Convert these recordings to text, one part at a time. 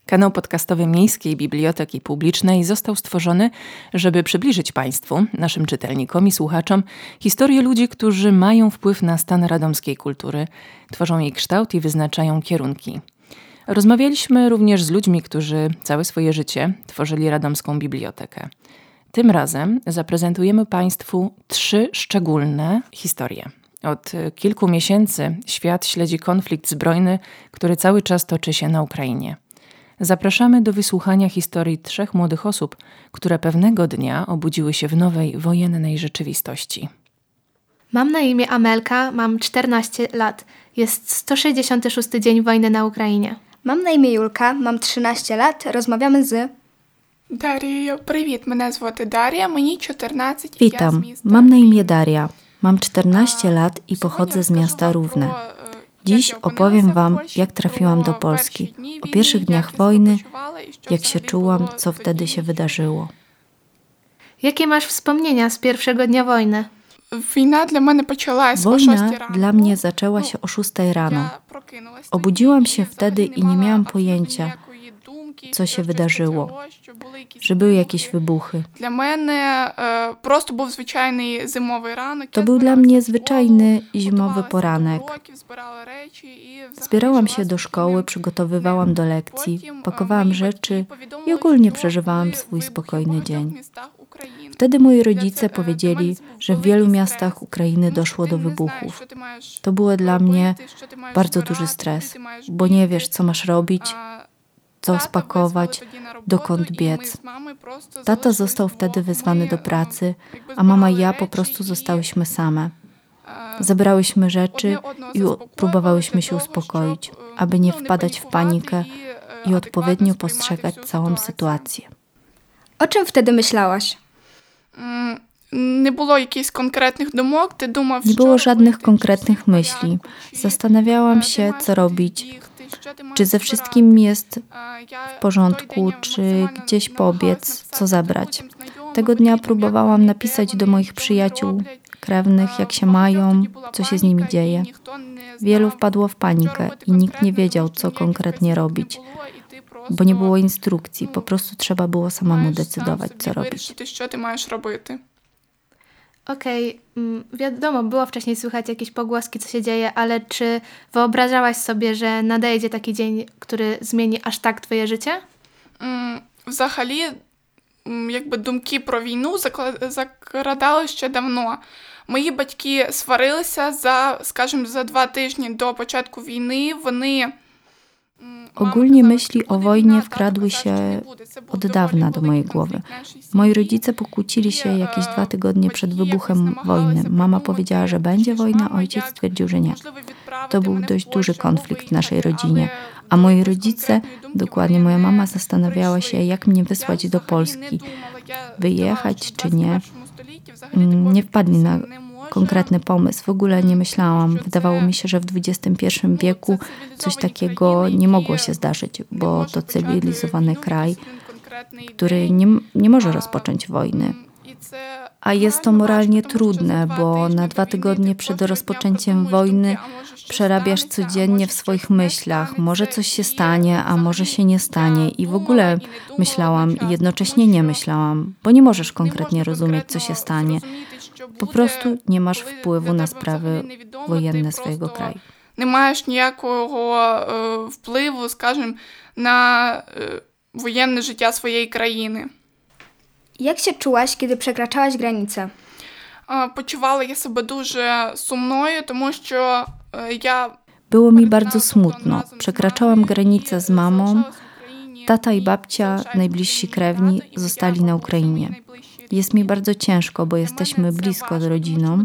Kanał podcastowy Miejskiej Biblioteki Publicznej został stworzony, żeby przybliżyć Państwu, naszym czytelnikom i słuchaczom, historię ludzi, którzy mają wpływ na stan radomskiej kultury, tworzą jej kształt i wyznaczają kierunki. Rozmawialiśmy również z ludźmi, którzy całe swoje życie tworzyli radomską bibliotekę. Tym razem zaprezentujemy Państwu 3 szczególne historie. Od kilku miesięcy świat śledzi konflikt zbrojny, który cały czas toczy się na Ukrainie. Zapraszamy do wysłuchania historii 3 młodych osób, które pewnego dnia obudziły się w nowej, wojennej rzeczywistości. Mam na imię Amelka, mam 14 lat. Jest 166 dzień wojny na Ukrainie. Mam na imię Julka, mam 13 lat, rozmawiamy z... Дарія, привіт, мене звати Дар'я, мені 14 Witam, mam na imię Daria, mam 14 lat i pochodzę z miasta Równe. Dziś opowiem Wam, jak trafiłam do Polski, o pierwszych dniach wojny, jak się czułam, co wtedy się wydarzyło. Jakie masz wspomnienia z pierwszego dnia wojny? Wojna dla mnie почалась o 6 Wojna rano. dla mnie zaczęła się o 6 rano. Obudziłam się wtedy i nie miałam pojęcia, co się wydarzyło, że były jakieś wybuchy. Для мене просто був звичайний зимовий ранок. To był dla mnie zwyczajny zimowy poranek. Zbierałam się do szkoły, przygotowywałam do lekcji, pakowałam rzeczy i ogólnie przeżywałam swój spokojny dzień. Wtedy moi rodzice powiedzieli, że w wielu miastach Ukrainy doszło do wybuchów. To było dla mnie bardzo duży stres, bo nie wiesz, co masz robić, co spakować, dokąd biec. Tata został wtedy wezwany do pracy, a mama i ja po prostu zostałyśmy same. Zebrałyśmy rzeczy i próbowałyśmy się uspokoić, aby nie wpadać w panikę i odpowiednio postrzegać całą sytuację. O czym wtedy myślałaś? Nie było jakichś konkretnych думок, ty думав, Nie było żadnych konkretnych myśli. Zastanawiałam się, co robić, czy ze wszystkim jest w porządku, czy gdzieś pobiec, co zabrać. Tego dnia próbowałam napisać do moich przyjaciół, krewnych, jak się mają, co się z nimi dzieje. Wielu wpadło w panikę i nikt nie wiedział, co konkretnie robić, bo nie było instrukcji, po prostu trzeba było samemu decydować, co robić. Що ти маєш робити? Okej, wiadomo, było wcześniej słychać jakieś pogłoski, co się dzieje, ale czy wyobrażałaś sobie, że nadejdzie taki dzień, który zmieni aż tak twoje życie? Взагалі, якби думки про війну закрадали ще давно. Мої батьки сварилися за 2 тижні до початку війни. Вони Ogólnie myśli o wojnie wkradły się od dawna do mojej głowy. Moi rodzice pokłócili się jakieś 2 tygodnie przed wybuchem wojny. Mama powiedziała, że będzie wojna, ojciec stwierdził, że nie. To był dość duży konflikt w naszej rodzinie. A moi rodzice, dokładnie moja mama, zastanawiała się, jak mnie wysłać do Polski. Wyjechać czy nie. Nie wpadli na konkretny pomysł. W ogóle nie myślałam. Wydawało mi się, że w XXI wieku coś takiego nie mogło się zdarzyć, bo to cywilizowany kraj, który nie może rozpocząć wojny. A jest to moralnie trudne, bo na 2 tygodnie przed rozpoczęciem wojny przerabiasz codziennie w swoich myślach. Może coś się stanie, a może się nie stanie. I w ogóle myślałam i jednocześnie nie myślałam, bo nie możesz konkretnie rozumieć, co się stanie. Po prostu nie masz wpływu na sprawy wojenne swojego kraju. Не маєш ніякого впливу, скажімо, на воєнне життя своєї країни. Jak się czułaś, kiedy przekraczałaś granicę? Почувала я себе дуже сумною, тому що я... Było mi bardzo smutno. Przekraczałam granicę z mamą. Tata i babcia, najbliżsi krewni, zostali na Ukrainie. Jest mi bardzo ciężko, bo jesteśmy blisko z rodziną.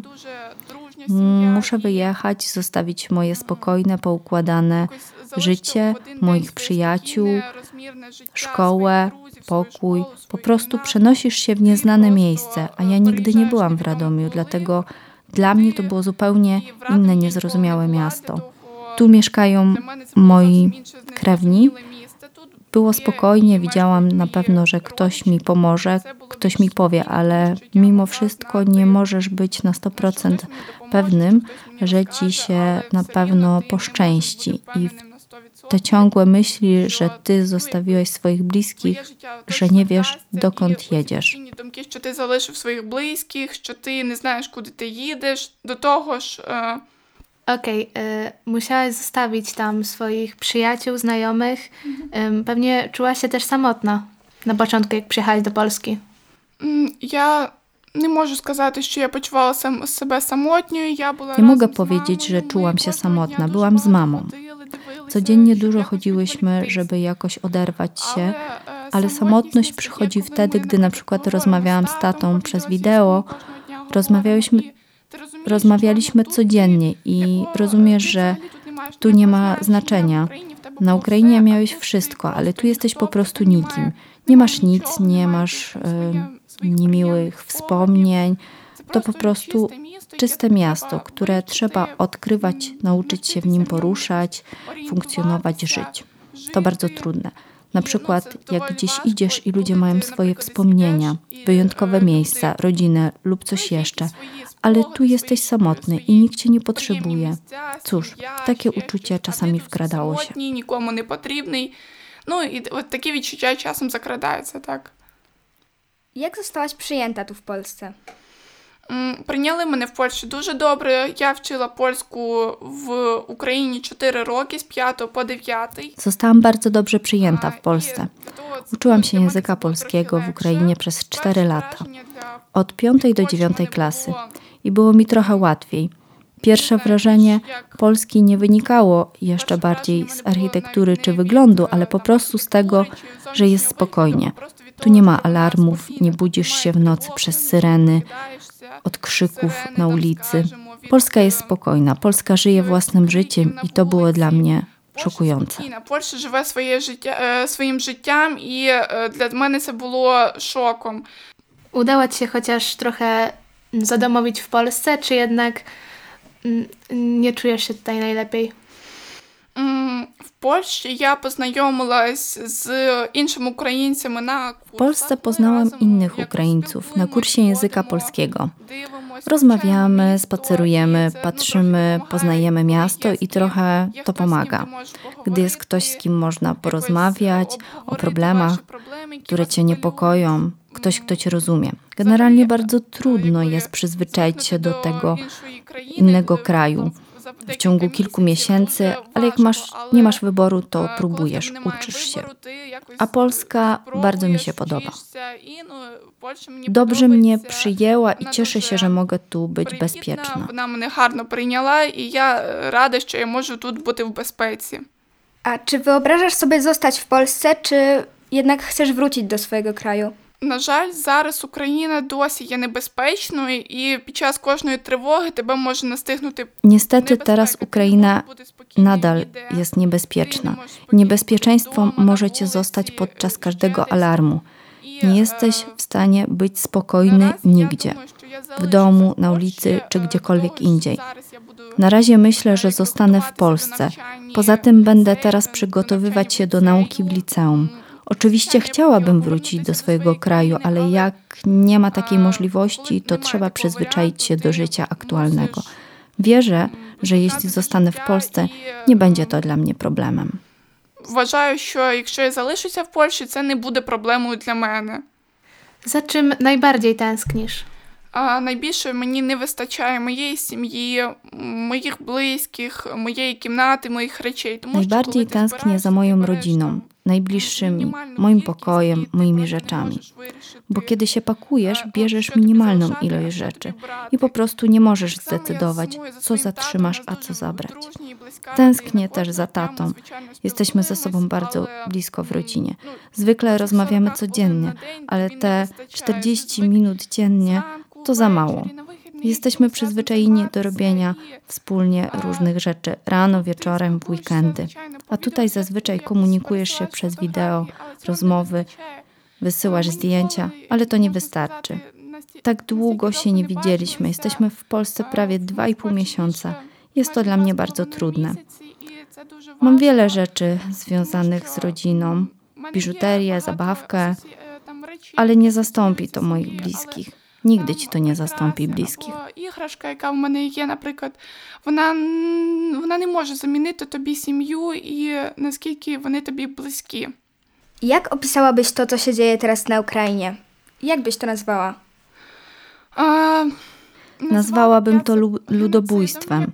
Muszę wyjechać, zostawić moje spokojne, poukładane życie, moich przyjaciół, szkołę, pokój. Po prostu przenosisz się w nieznane miejsce, a ja nigdy nie byłam w Radomiu, dlatego dla mnie to było zupełnie inne, niezrozumiałe miasto. Tu mieszkają moi krewni. Było spokojnie, widziałam na pewno, że ktoś mi pomoże, ktoś mi powie, ale mimo wszystko nie możesz być na 100% pewnym, że ci się na pewno poszczęści. I te ciągłe myśli, że ty zostawiłeś swoich bliskich, że nie wiesz, dokąd jedziesz. Думки, що ти залишив своїх близьких, що ти не знаєш, куди ти їдеш. До того ж, Okej, musiałaś zostawić tam swoich przyjaciół, znajomych. Pewnie czułaś się też samotna na początku, jak przyjechałaś do Polski. я не можу сказати, що я почувала себе самотньою. Nie mogę powiedzieć, że czułam się samotna. Byłam z mamą. Codziennie dużo chodziłyśmy, żeby jakoś oderwać się, ale samotność przychodzi wtedy, gdy na przykład rozmawiałam z tatą przez wideo. Rozmawialiśmy codziennie i rozumiesz, że tu nie ma znaczenia. Na Ukrainie miałeś wszystko, ale tu jesteś po prostu nikim. Nie masz nic, nie masz niemiłych wspomnień. To po prostu czyste miasto, które trzeba odkrywać, nauczyć się w nim poruszać, funkcjonować, żyć. To bardzo trudne. Na przykład jak gdzieś idziesz i ludzie mają swoje wspomnienia, wyjątkowe miejsca, rodzinę lub coś jeszcze, ale tu jesteś samotny i nikt cię nie potrzebuje. Cóż, takie uczucie czasami wkradało się. Nikomu nie potrzebny. No i takie відчуття czasem zakradaється, tak. Jak zostałaś przyjęta tu w Polsce? Прийняли мене в Польщі дуже добре. Я вчила польську в Україні 4 роки, з 5 po 9. Zostałam bardzo dobrze przyjęta w Polsce. Uczyłam się języka polskiego w Ukrainie przez 4 lata. Od 5 do 9 klasy. I było mi trochę łatwiej. Pierwsze wrażenie Polski nie wynikało jeszcze bardziej z architektury czy wyglądu, ale po prostu z tego, że jest spokojnie. Tu nie ma alarmów, nie budzisz się w nocy przez syreny, od krzyków na ulicy. Polska jest spokojna, Polska żyje własnym życiem i to było dla mnie szokujące. Польща живе своїм життям і для мене це було шоком. Udało ci się chociaż trochę zadomowić w Polsce, czy jednak nie czujesz się tutaj najlepiej? В Польщі я познайомилась з іншими українцями на курсах. W Polsce poznałam innych Ukraińców na kursie języka polskiego. Rozmawiamy, spacerujemy, patrzymy, poznajemy miasto i trochę to pomaga. Gdy jest ktoś, z kim można porozmawiać o problemach, które cię niepokoją, ktoś, kto cię rozumie. Generalnie bardzo trudno jest przyzwyczaić się do tego innego kraju w ciągu kilku miesięcy, ale jak nie masz wyboru, to próbujesz, uczysz się. A Polska bardzo mi się podoba. Dobrze mnie przyjęła i cieszę się, że mogę tu być bezpieczna. Вона мене гарно прийняла, і я рада, що я можу тут бути в безпеці. A czy wyobrażasz sobie zostać w Polsce, czy jednak chcesz wrócić do swojego kraju? На жаль, зараз Україна досі є небезпечною, і під час кожної тривоги тебе може настигнути. Niestety teraz Ukraina nadal jest niebezpieczna. Niebezpieczeństwo może cię zostać podczas każdego alarmu. Nie jesteś w stanie być spokojny nigdzie. W domu, na ulicy czy gdziekolwiek indziej. Na razie myślę, że zostanę w Polsce. Poza tym będę teraz przygotowywać się do nauki w liceum. Oczywiście chciałabym wrócić do swojego kraju, ale jak nie ma takiej możliwości, to trzeba przyzwyczaić się do życia aktualnego. Wierzę, że jeśli zostanę w Polsce, nie będzie to dla mnie problemem. Вважаю, що якщо я залишуся в Польщі, це не буде проблемою для мене. Za czym najbardziej tęsknisz? Найбільше мені не вистачає моєї сім'ї, моїх близьких, моєї кімнати, моїх речей. Najbardziej tęsknię za moją rodziną, najbliższymi, moim pokojem, moimi rzeczami. Bo kiedy się pakujesz, bierzesz minimalną ilość rzeczy i po prostu nie możesz zdecydować, co zatrzymasz, a co zabrać. Tęsknię też za tatą. Jesteśmy ze sobą bardzo blisko w rodzinie. Zwykle rozmawiamy codziennie, ale te 40 minut dziennie to za mało. Jesteśmy przyzwyczajeni do robienia wspólnie różnych rzeczy rano, wieczorem, w weekendy. A tutaj zazwyczaj komunikujesz się przez wideo, rozmowy, wysyłasz zdjęcia, ale to nie wystarczy. Tak długo się nie widzieliśmy. Jesteśmy w Polsce prawie 2,5 miesiąca. Jest to dla mnie bardzo trudne. Mam wiele rzeczy związanych z rodziną, biżuterię, zabawkę, ale nie zastąpi to moich bliskich. Nigdy ci to nie zastąpi bliskich. Іграшка, яка в мене є, наприклад, вона не може замінити тобі сім'ю і наскільки вони тобі близькі. Jak opisałabyś to, co się dzieje teraz na Ukrainie? Jak byś to nazwała? Nazwałabym to ludobójstwem.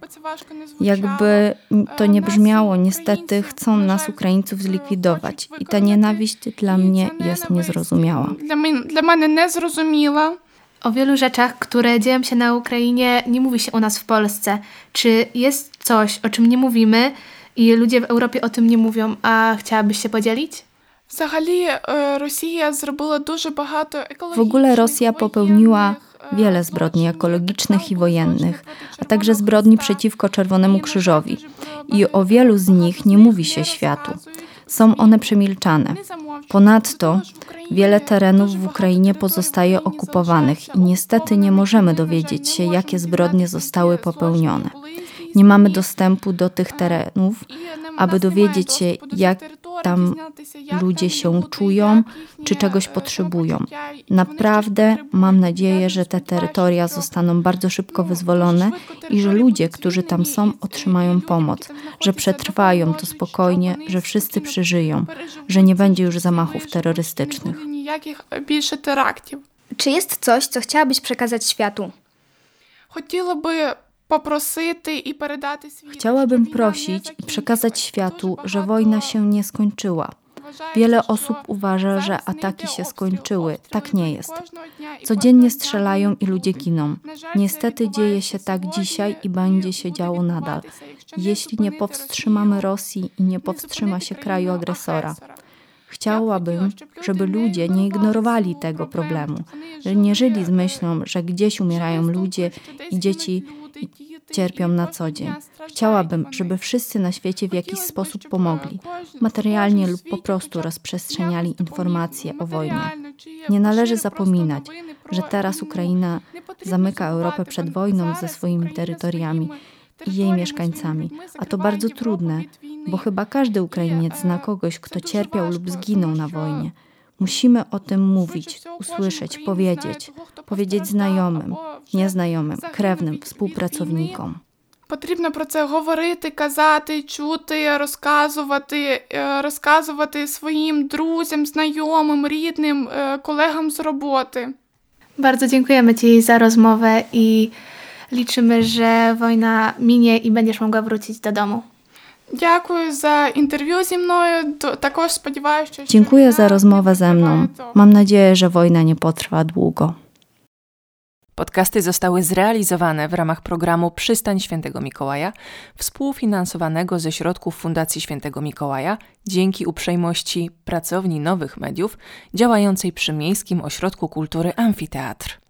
Jakby to nie brzmiało, niestety chcą nas, Ukraińców, zlikwidować. I ta nienawiść dla mnie jest niezrozumiała. Для мене незрозуміла. O wielu rzeczach, które dzieją się na Ukrainie, nie mówi się u nas w Polsce. Czy jest coś, o czym nie mówimy i ludzie w Europie o tym nie mówią, a chciałabyś się podzielić? Взагалі, Росія зробила дуже багато екологічних, W ogóle Rosja popełniła wiele zbrodni ekologicznych i wojennych, a także zbrodni przeciwko Czerwonemu Krzyżowi. I o wielu z nich nie mówi się światu. Są one przemilczane. Ponadto wiele terenów w Ukrainie pozostaje okupowanych i niestety nie możemy dowiedzieć się, jakie zbrodnie zostały popełnione. Nie mamy dostępu do tych terenów, aby dowiedzieć się, jak tam ludzie się czują, czy czegoś potrzebują. Naprawdę mam nadzieję, że te terytoria zostaną bardzo szybko wyzwolone i że ludzie, którzy tam są, otrzymają pomoc, że przetrwają to spokojnie, że wszyscy przeżyją, że nie będzie już zamachów terrorystycznych. Більше терактів. Czy jest coś, co chciałabyś przekazać światu? Хотіла би попросити і передати світу. Chciałabym prosić i przekazać światu, że wojna się nie skończyła. Wiele osób uważa, że ataki się skończyły. Tak nie jest. Codziennie strzelają i ludzie giną. Niestety dzieje się tak dzisiaj i będzie się działo nadal. Jeśli nie powstrzymamy Rosji i nie powstrzyma się kraju agresora. Chciałabym, żeby ludzie nie ignorowali tego problemu, że nie żyli z myślą, że gdzieś umierają ludzie i dzieci cierpią na co dzień. Chciałabym, żeby wszyscy na świecie w jakiś sposób pomogli, materialnie lub po prostu rozprzestrzeniali informacje o wojnie. Nie należy zapominać, że teraz Ukraina zamyka Europę przed wojną ze swoimi terytoriami i jej mieszkańcami, a to bardzo trudne, bo chyba każdy Ukrainiec zna kogoś, kto cierpiał lub zginął na wojnie. Musimy o tym mówić, usłyszeć, powiedzieć znajomym, nieznajomym, krewnym, współpracownikom. Потрібно про це говорити, казати, чути, розказувати своїм друзям, знайомим, рідним, колегам з роботи. Bardzo dziękujemy Ci za rozmowę i liczymy, że wojna minie i będziesz mogła wrócić do domu. Дякую за інтерв'ю зі мною. Також сподіваюся, що Dziękuję za rozmowę ze mną. Mam nadzieję, że wojna nie potrwa długo. Podcasty zostały zrealizowane w ramach programu Przystań Świętego Mikołaja, współfinansowanego ze środków Fundacji Świętego Mikołaja dzięki uprzejmości Pracowni Nowych Mediów działającej przy Miejskim Ośrodku Kultury Amfiteatr.